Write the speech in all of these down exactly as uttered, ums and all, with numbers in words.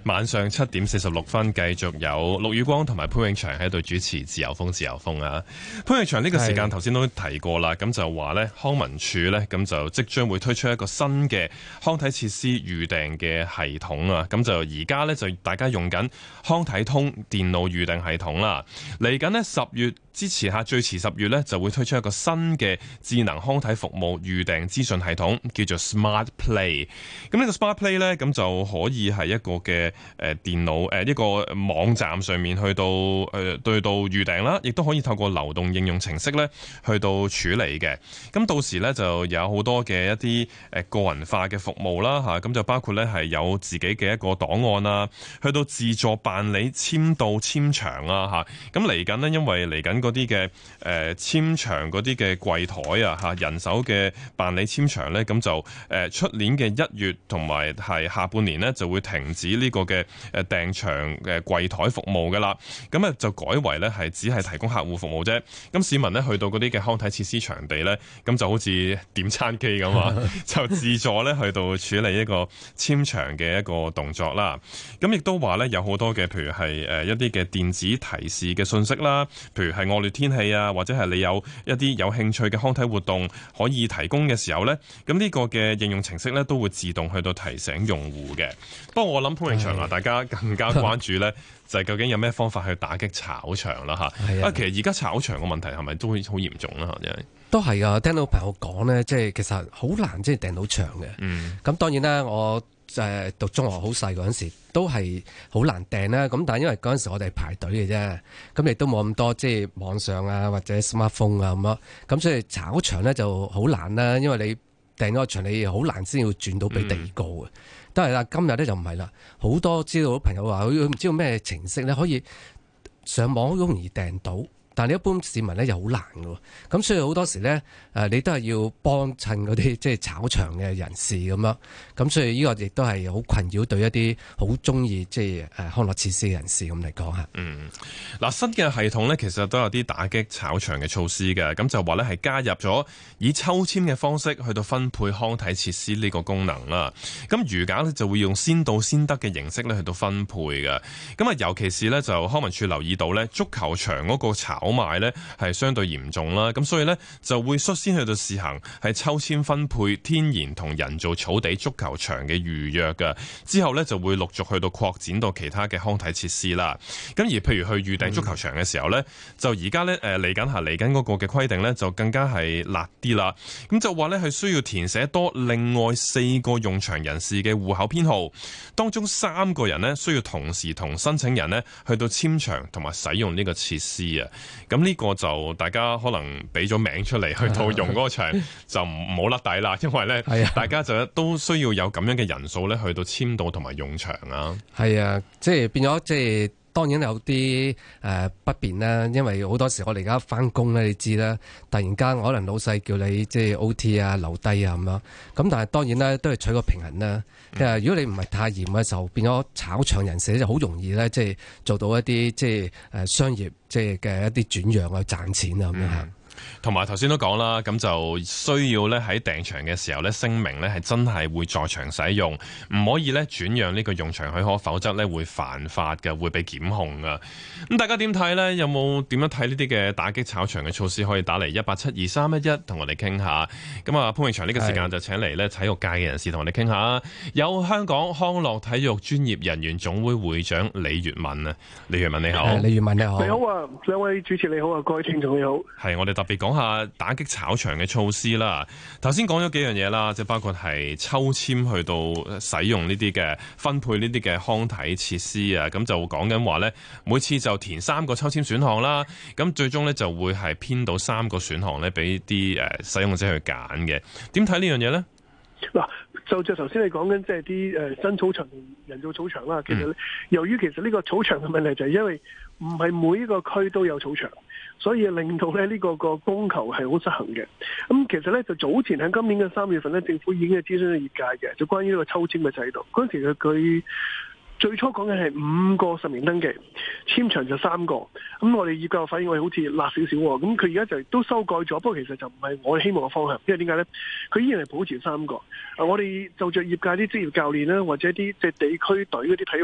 晚上七點四十六分，繼續有陸宇光同埋潘永祥喺度主持自由風自由風啊！潘永祥呢個時間頭先都提過啦，咁就話呢康文署呢，咁就即將會推出一個新嘅康體設施預訂嘅系統啊！咁就而家呢，就大家用緊康體通電腦預訂系統啦，嚟緊呢，十月之前下最遲十月呢，就會推出一個新嘅智能康體服務預訂資訊系統，叫做 Smart Play。咁呢個 Smart Play 呢，咁就可以係一個嘅誒電腦誒一個網站上面去到誒對到預訂啦，亦都可以透過流動應用程式咧去到處理嘅。咁到時咧就有好多嘅一啲誒個人化嘅服務啦嚇，咁就包括咧係有自己嘅一個檔案啊，去到自助辦理簽到簽場啊嚇。咁嚟緊呢，因為嚟緊嗰啲嘅誒簽場嗰啲嘅櫃台啊嚇，人手嘅辦理簽場咧，咁就誒出年嘅一月同埋係下半年呢，就會停止呢個嘅誒訂場嘅櫃台服務噶啦，咁啊就改為咧係只係提供客戶服務啫。咁市民咧去到嗰啲嘅康體設施場地咧，咁就好似點餐機咁啊，就自助咧去到處理一個簽場嘅一個動作啦。咁亦都話咧有好多嘅，譬如係誒一啲嘅電子提示嘅信息啦，譬如係惡劣天氣啊，或者係你有一啲有興趣嘅康體活動可以提供嘅時候咧，咁呢個嘅應用程式咧都會自動去到提醒用戶嘅。不過我諗潘永祥啊，大家更加關注咧，就係究竟有咩方法去打擊炒場啦嚇。啊，其實而家炒場嘅問題係咪都好嚴重啦嚇？真係都係啊！聽到朋友講咧，即係其實好難即係訂到場嘅。嗯，咁當然啦，我誒讀中學好細嗰陣時都係好難訂啦。咁但係因為嗰陣時我哋排隊嘅啫，咁亦都冇咁多即係網上啊或者 smartphone 啊咁咯。咁所以炒場咧就好難啦，因為你訂咗個場你好難先要轉到俾第二個嘅。嗯，都係啦，今日咧就唔係啦，好多知道朋友話佢唔知道咩程式咧可以上網好容易訂到，但係一般市民咧又好難嘅，咁所以好多時咧誒你都係要幫襯嗰啲即係炒場嘅人士咁樣，咁所以呢個亦都係好困擾對一啲好中意即係誒康樂設施嘅人士咁嚟講嚇。 嗯，嗱新嘅系統咧其實都有啲打擊炒場嘅措施嘅，咁就話咧係加入咗以抽籤嘅方式去到分配康體設施呢個功能啦。咁餘額咧就會用先到先得嘅形式咧去到分配嘅。咁啊尤其是咧就康文署留意到咧足球場嗰個炒炒賣呢係相對嚴重啦，咁所以呢就會率先去到試行係抽籤分配天然同人造草地足球場嘅預約嘅，之後呢就會陸續去到擴展到其他嘅康體設施啦。咁而譬如去預訂足球場嘅時候呢，嗯、就而家呢誒嚟緊下嚟緊嗰個嘅規定呢，就更加係辣啲啦。咁就話呢係需要填寫多另外四個用場人士嘅戶口編號，當中三個人呢需要同時同申請人呢去到簽場同埋使用呢個設施啊。咁呢個就大家可能俾咗名出嚟去到用嗰個場就唔好甩底啦，因為咧大家就都需要有咁樣嘅人數咧去到簽到同埋用場啊。係啊， 即係變咗即係。當然有啲誒、呃、不便啦，因為好多時我哋而家翻工咧，你知啦，突然間可能老細叫你即係 O T 啊、留低啊咁樣，咁但係當然咧都係取個平衡啦。誒、嗯，如果你唔係太嚴嘅時候，變咗炒場人士就好容易咧，即係做到一啲即係誒商業即係嘅一啲轉讓啊、賺錢啊咁樣嚇。 同埋頭先都講啦，咁就需要咧喺訂場嘅時候咧聲明咧係真係會在場使用，唔可以咧轉讓呢個用場許可，否則咧會犯法嘅，會被檢控噶。咁大家點睇呢？有冇點樣睇呢啲嘅打擊炒場嘅措施？可以打嚟一八七二三一一同我哋傾下。咁啊潘永祥呢個時間就請嚟咧體育界嘅人士同我哋傾下。有香港康樂體育專業人員總會會長李粵民啊，李粵民你好。 李粵民你好。 你好啊，兩位主持你好啊，各位聽眾你好。 係我哋特別講下打擊炒場嘅措施啦。頭先講咗幾樣嘢啦，即係包括係抽籤去到使用呢啲嘅分配呢啲嘅康體設施啊。咁就講緊話呢，每次就填三個抽籤選項啦。咁最終呢，就會係編到三個選項呢，俾啲誒使用者去揀嘅。點睇呢樣嘢呢？ 嗱，就就頭先你講緊即係啲誒新草場、人造草場啦。其實咧，由於其實呢個草場嘅問題就係因為唔係每一個區都有草場。所以令到咧呢個個供求係好失衡嘅。咁其實咧就早前喺今年嘅三月份咧，政府已經係諮詢咗業界嘅，就關於呢個抽籤嘅制度。嗰陣時佢佢最初講嘅係五個實名登記，簽場就三個。咁我哋業界反應我哋好似辣少少喎。咁佢而家就都修改咗，不過其實就唔係我哋希望嘅方向。因為點解咧？佢依然係保持三個。啊，我哋就着業界啲職業教練啦，或者啲即係地區隊嗰啲體育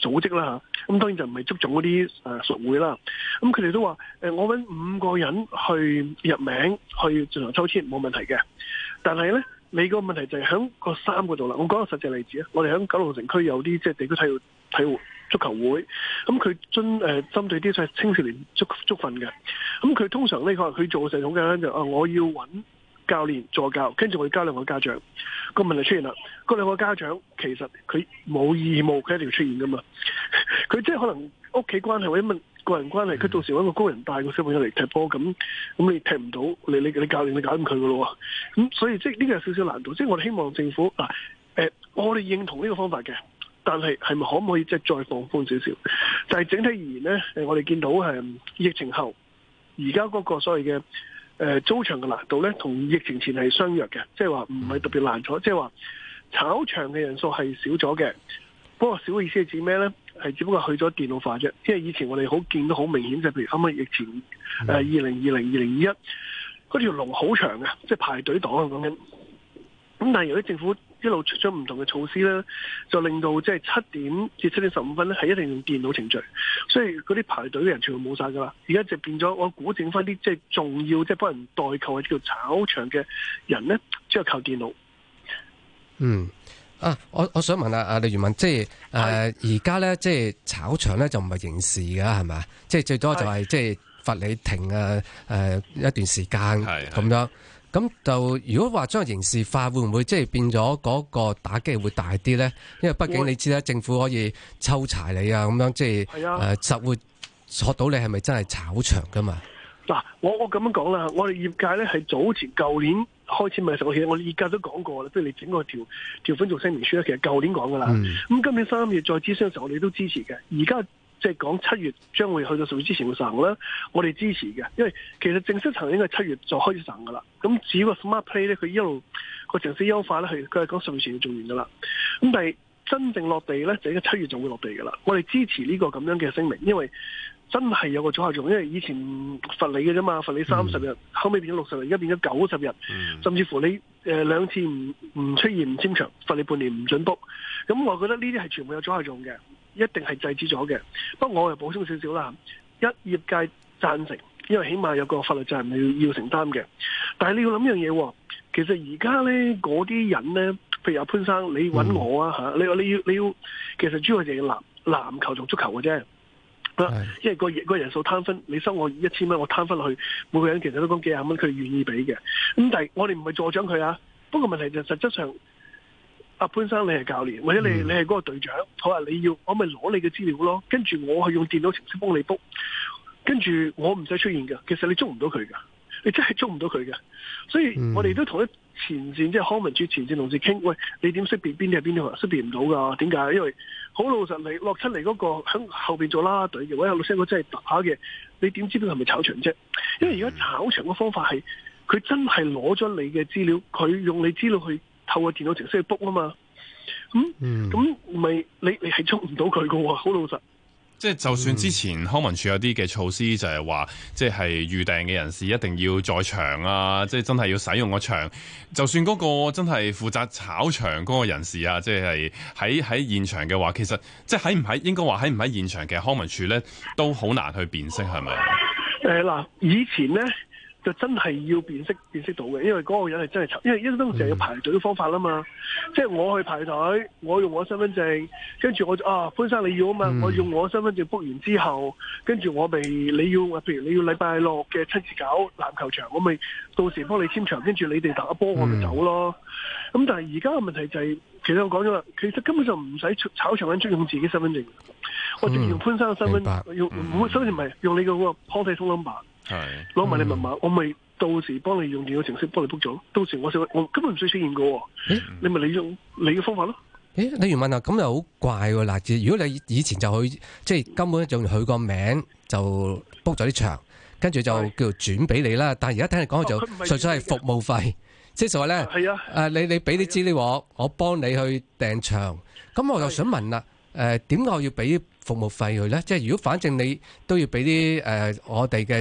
組織啦嚇，咁當然就唔係足總嗰啲誒屬會啦。咁佢哋都話誒，我揾五個人去入名去進行抽籤冇問題嘅，但係咧你個問題就係喺個三個度啦。我講個實際例子啊，我哋喺九龍城區有啲即係地區體育體育足球會，咁佢針誒針對啲青少年足足訓嘅，咁佢通常呢個佢做嘅時候好簡單就啊，我要揾教練助教，跟住我要交兩個家長。個問題出現啦，嗰兩個家長其實佢冇義務，佢一定要出現噶嘛。佢即係可能屋企關係或者問個人關係，佢到時揾個高人帶個小朋友嚟踢波，咁咁你踢唔到，你你你教練你搞唔佢噶咯喎。咁所以即係呢個有少少難度。即係我哋希望政府嗱誒、呃，我哋認同呢個方法嘅，但係係咪可唔可以即係再放寬少少？但係整體而言呢，誒我哋見到係疫情後而家嗰個所謂嘅。誒、呃、租場嘅難度咧，同疫情前係相若嘅，即係話唔係特別難咗，即係話炒場嘅人數係少咗嘅。不過少嘅意思係指咩咧？係只不過去咗電腦化啫。因為以前我哋好見到好明顯，就譬如啱啱疫情誒二零二零、二零二一嗰條龍好長嘅，即係排隊黨啊講緊。咁但係由於政府一路出咗唔同嘅措施咧，就令到即係七點至七點十五分咧係一定用電腦程序，所以嗰啲排隊嘅人全部冇晒噶啦。而家就變咗，我估整翻啲即係重要即係幫人代購或者叫炒場嘅人咧，只係靠電腦。 嗯啊，我我想問下啊，李元敏，即係誒而家咧，即係炒場咧就唔係刑事㗎，係咪？即係最多就係、是、即係罰你停啊誒、呃、一段時間咁樣。咁就如果話將刑事化，會唔會即係變咗嗰個打擊會大啲咧？因為畢竟你知啦，政府可以抽查你啊，咁樣即係誒實會索到你係咪真係炒場噶嘛？ 嗱，我我咁樣講啦，我哋業界咧係早前舊年開始咪實其實我哋業界都講過啦，不如你整個條條款做聲明書咧，其實舊年講噶啦。咁、嗯、今年三月再諮詢嘅時候，我哋都支持嘅。而家即係講七月將會去到十月之前會實行啦，我哋支持嘅，因為其實正式實行應該係七月就開始實行噶啦。咁至於個 Smart Play 咧，佢一路個程式優化咧，係佢係講十月前要做完噶啦。咁但係真正落地咧，就應該七月就會落地噶啦。我哋支持呢個咁樣嘅聲明，因為真係有個阻嚇作用。因為以前罰你嘅啫嘛，罰你三十日，嗯、後尾變咗六十日，而家變咗九十日，嗯、甚至乎你誒、呃、兩次唔唔出現唔簽場，罰你半年唔准 book。咁我覺得呢啲係全部有阻嚇作用嘅。一定係制止咗嘅，不過我又補充少少啦。一業界贊成，因為起碼有個法律責任你要要承擔嘅。但係你要諗樣嘢，其實而家咧嗰啲人咧，譬如阿潘生，你揾我啊嚇、嗯，你你要你要，其實主要就係籃籃球同足球嘅啫。因為個個人數攤分，你收我一千蚊，我攤分落去，每個人其實都講幾廿蚊，佢願意俾嘅。咁但係我哋唔係助長佢啊。不過問題就實質上。阿潘生，你係教練，或者你你係嗰個隊長，好啊！你要我咪攞你嘅資料咯，跟住我係用電腦程式幫你 book，跟住我唔使出現㗎。其實你捉唔到佢㗎，你真係捉唔到佢㗎。所以我哋都同一前線，即係康文署前線同事傾，喂，你點識別邊啲係邊啲？識別唔到㗎，點解？因為好老實嚟落出嚟嗰個喺後邊做啦啦隊嘅，或者老師哥真係打嘅，你點知道係咪炒場啫？因為而家炒場嘅方法係佢真係攞咗你嘅資料，佢用你資料去。透過電腦程式去 book 啊嘛，咁咁咪你你係捉唔到佢噶喎，好老實。 即係就算之前康文署有啲嘅措施，就係話，即係預訂嘅人士一定要在場啊，即係真係要使用個場。就算嗰個真係負責炒場嗰個人士啊，即係喺喺現場嘅話，其實即係喺唔喺應該話喺唔喺現場嘅康文署咧，都好難去辨識係咪？ 誒嗱、呃，以前咧。就真係要辨識辨識到嘅，因為嗰個人係真係炒，因為因為當時係有排隊嘅方法啦嘛。嗯、即係我去排隊，我用我身份證，跟住我就啊潘生你要啊嘛，嗯、我用我身份證 book 完之後，跟住我咪你要，譬如你要禮拜六嘅親自搞籃球場，我咪到時幫你簽場，跟住你哋打波我咪走咯。咁、嗯、但係而家嘅問題就係、是，其實我講咗啦，其實根本就唔使炒場緊，用自己身份證，我直接用潘生嘅身份，嗯、用唔身份證唔係用你嘅嗰個 Pay Phone number。係攞埋你密碼，嗯、我咪到時幫你用電腦程式幫你 book 咗。到時我我根本唔需要出現嘅，欸、你咪你用你嘅方法咯。 誒、欸，李元敏啊，咁又好怪喎嗱！如果你以前就去，即係根本就用佢個名就 book 咗啲場，跟住就叫做轉俾你啦。但係而家聽你講就純粹係服務費，即係就話咧，誒、啊，你你俾啲資料我，我幫你去訂場。咁我就想問啦，誒，點解我要俾服務費佢咧？即係如果反正你都要俾啲誒我哋嘅。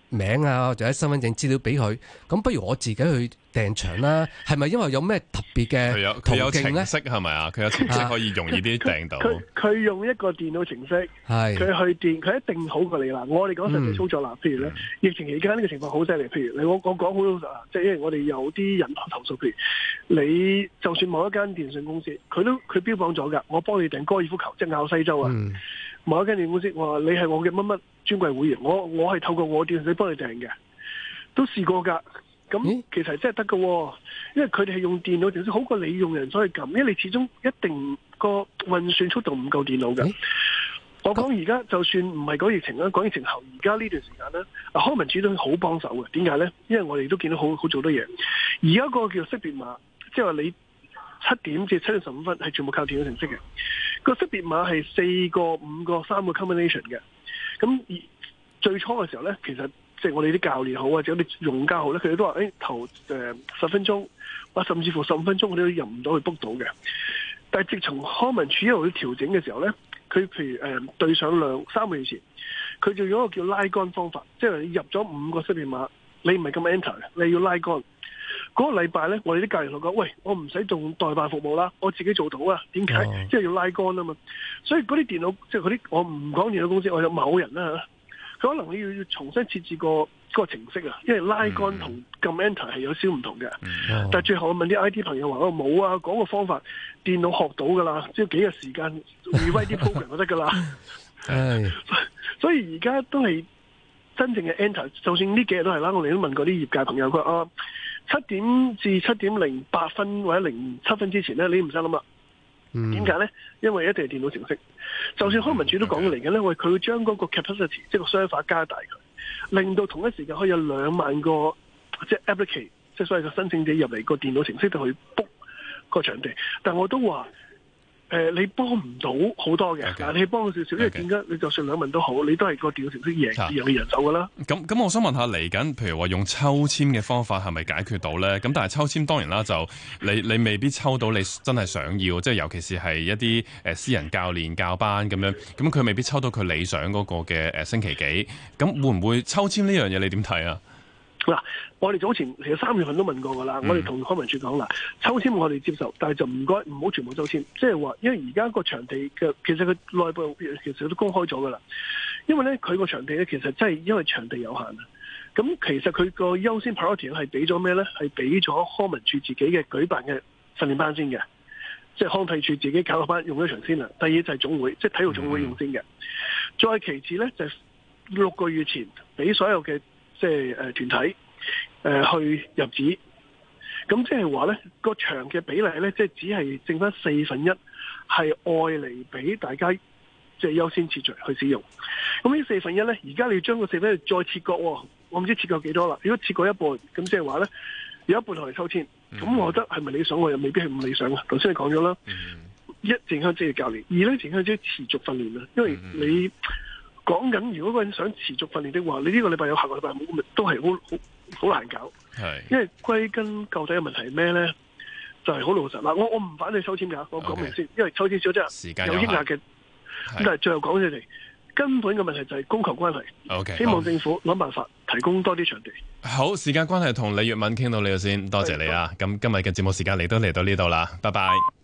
名啊，或者身份證資料俾佢，咁不如我自己去訂場啦。係咪因為有咩特別嘅佢有途佢有徑咧？ 程式係咪啊？佢有程式可以容易啲訂到。 佢佢用一個電腦程式， 係佢去電，佢一定好過你啦。我哋講實際操作啦，譬如咧，疫情期間呢個情況好犀利。譬如你我我講好老實啊，即係因為我哋有啲人投訴，譬如你就算某一間電信公司，佢都佢標榜咗㗎，我幫你訂高爾夫球，即係拗西洲啊。 嗯某一間電信公司，我話你係我嘅乜乜專櫃會員，我我係透過我電信幫你訂嘅，都試過㗎。咁其實真係得㗎，因為佢哋係用電腦程式好過你用人所以撳，因為你始終一定個運算速度唔夠電腦嘅。我講而家就算唔係講疫情啦，講疫情後而家呢段時間咧，康文署都好幫手嘅。點解咧？因為我哋都見到好好做多嘢。而家個叫識別碼，即係話你七點至七點十五分係全部靠電腦程式嘅。個識別碼係四個、五個、三個 combination 嘅。咁而最初嘅時候咧，其實即係我哋啲教練好或者我哋用家好咧，佢哋都話：誒、欸、頭誒十分鐘，或甚至乎十五分鐘，我哋都入唔到去 book 到嘅。但係自從康文署一路去調整嘅時候咧，佢譬如誒、呃、對上兩三個月前，佢就用一個叫拉桿方法，即係你入咗五個識別碼，你唔係咁 enter 嘅，你要拉桿。嗰、那個禮拜咧，我哋啲教練同我講：喂，我唔使做代辦服務啦，我自己做到啊。點解？即、oh. 係要拉桿啊嘛。所以嗰啲電腦，即係嗰啲我唔講電腦公司，我有某人啦嚇，佢可能你要要重新設置個嗰個程式啊，因為拉桿同撳 enter 係有少唔同嘅。Oh. 但係最後我問啲 I T 朋友話：我冇啊，講個方法，電腦學到㗎啦，即係幾日時間 rewrite 啲 program 就得㗎啦。 係， 所以而家都係真正嘅 enter， 就算呢幾日都係啦。我哋都問過啲業界朋友，佢話啊，七點至七點零八分或者零七分之前咧，你唔使諗啦。點解咧？因為一定係電腦程式。就算康文署都講嚟緊咧，喂，佢會將嗰個 capacity 即係個 server 加大佢，令到同一時間可以有兩萬個即係 applicant， 即係所謂嘅申請者入嚟個電腦程式度去 book 個場地。但我都話。誒、呃，你幫唔到好多嘅，但、okay. 你幫少少，因為點解？你就算兩問都好，你都係個電腦程式贏贏嘅人手噶啦。 咁咁，我想問下嚟緊，譬如話用抽籤嘅方法係咪解決到咧？咁但係抽籤當然啦，就你你未必抽到你真係想要，即係尤其是係一啲誒私人教練教班咁樣，咁佢未必抽到佢理想嗰個嘅誒星期幾。咁會唔會抽籤呢樣嘢？你點睇啊？ 嗱，我哋早前其實三月份都問過噶啦、嗯，我哋同康文署講啦，抽籤我哋接受，但係就唔該唔好全部抽籤，即係話，因為而家個場地嘅其實佢內部其實都公開咗噶啦，因為咧佢個場地咧其實真係因為場地有限啊，咁其實佢個優先 priority 係俾咗咩咧？係俾咗康文署自己嘅舉辦嘅訓練班先嘅，即係康體署自己搞個班用咗場先啦。第二就係總會，即係體育總會用先嘅、嗯，再其次咧就係、是、六個月前俾所有嘅。即係誒團體誒、呃、去入紙，咁即係話咧個場嘅比例咧，即係只係剩翻四分一係愛嚟俾大家即係優先次序去使用。咁呢四分一咧，而家你要將個四分一再切割、哦，我唔知切割幾多啦。如果切割一半，咁即係話咧有一半同嚟抽籤，咁、嗯、我覺得係咪理想？我又未必係咁理想啊。頭先你講咗啦，一正向職業教練，二咧正向職持續訓練啊，因為你。講緊，如果個人想持續訓練的話，你呢個禮拜有，下個禮拜冇，都係好好好難搞。係，因為歸根究底嘅問題係咩咧？就係、是、好老實嗱，我我唔反對抽籤㗎，我講明先，okay. 因為抽籤少即係有抑壓嘅。咁但係最後講起嚟，根本嘅問題就係供求關係。Okay. 希望政府諗辦法提供多啲場地。 好，時間關係，同李粵文傾到呢度先，多謝你啊！咁今日嘅節目時間嚟都嚟到呢度啦，拜拜。